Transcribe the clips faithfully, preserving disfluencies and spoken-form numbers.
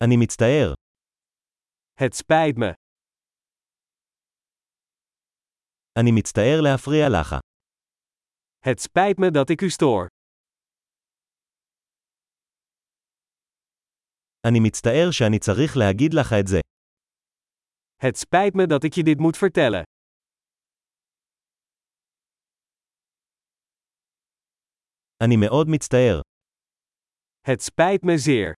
אני מצטער. Het spijt me. אני מצטער להפריע לך. Het spijt me dat ik u stoor. אני מצטער שאני צריך להגיד לך את זה. Het spijt me dat ik je dit moet vertellen. אני מאוד מצטער. Het spijt me zeer.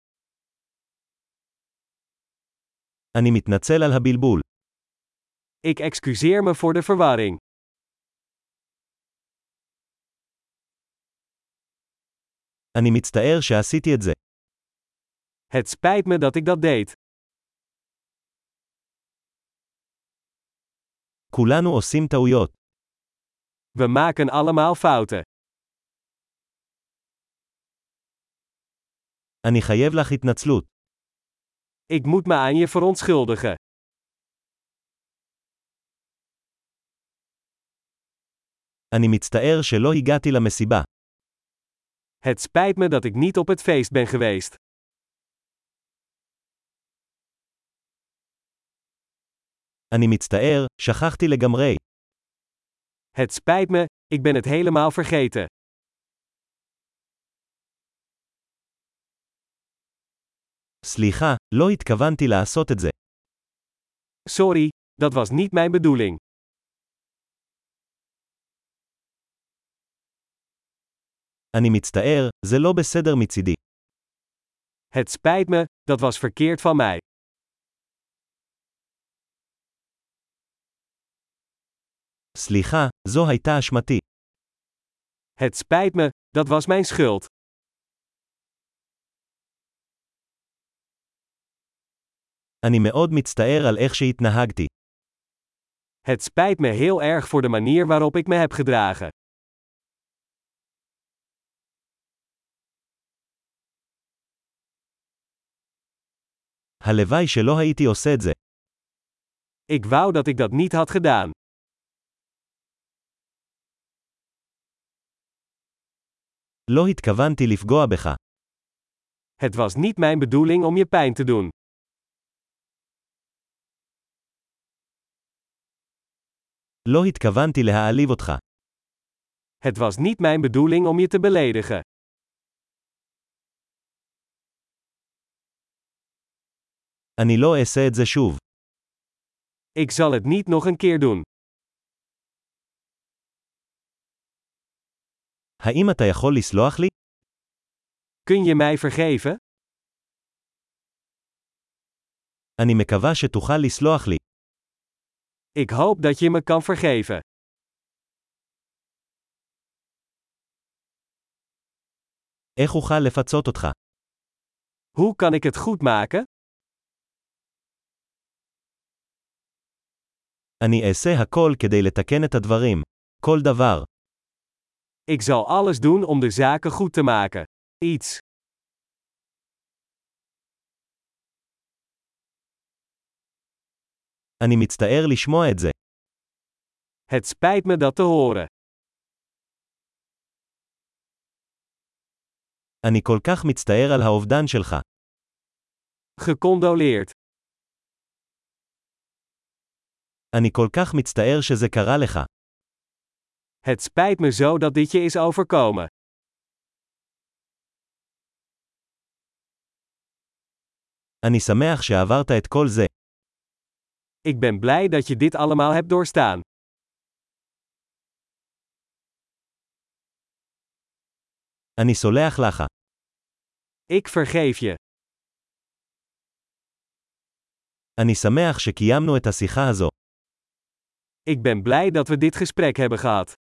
אני מתנצל על הבלבול. Ik excuseer me voor de verwarring. אני מצטער שעשיתי את זה. Het spijt me dat ik dat deed. כולנו עושים טעויות. We maken allemaal fouten. אני חייב לך התנצלות. Ik moet me aan je verontschuldigen. אני מצטער שלא הגעתי למסיבה. Het spijt me dat ik niet op het feest ben geweest. אני מצטער, שכחתי לגמרי. Het spijt me, ik ben het helemaal vergeten. סליחה, לא התכוונתי לעשות את זה. Sorry, dat was niet mijn bedoeling. אני מצטער, זה לא בסדר מצידי. Het spijt me, dat was verkeerd van mij. סליחה, זו הייתה אשמתי. Het spijt me, dat was mijn schuld. אני מאוד מצטער על איך שהתנהגתי. Het spijt me heel erg voor de manier waarop ik me heb gedragen. הלוואי שלא הייתי עושה את זה. Ik wou dat ik dat niet had gedaan. לא התכוונתי לפגוע בך. Het was niet mijn bedoeling om je pijn te doen. לא התכוונתי להעליב אותך. Het was niet mijn bedoeling om je te beledigen. אני לא אעשה את זה שוב. Ik zal het niet nog een keer doen. האם אתה יכול לסלוח לי? Kun je mij vergeven? אני מקווה שתוכל לסלוח לי. Ik hoop dat je me kan vergeven. איך אוכל לפצות אותך? Hoe kan ik het goed maken? אני אעשה הכל כדי לתקן את הדברים. כל דבר. Ik zal alles doen om de zaken goed te maken. Iets. אני מצטער לשמוע את זה. Het spijt me dat te horen. אני כל כך מצטער על האובדן שלך. Gecondoleerd. אני כל כך מצטער שזה קרה לך. Het spijt me zo dat dit je is overkomen. אני שמח שעברת את כל זה. Ik ben blij dat je dit allemaal hebt doorstaan. אני סולח לך. Ik vergeef je. אני שמח שקיימנו את השיחה הזו. Ik ben blij dat we dit gesprek hebben gehad.